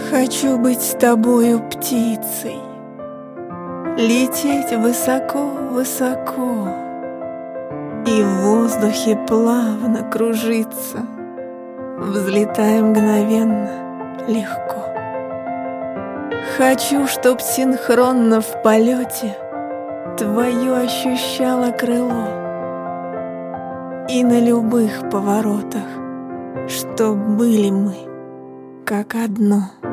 Хочу быть с тобою птицей, лететь высоко-высоко и в воздухе плавно кружиться, взлетая мгновенно легко. Хочу, чтоб синхронно в полете твое ощущало крыло, и на любых поворотах, чтоб были мы как одно.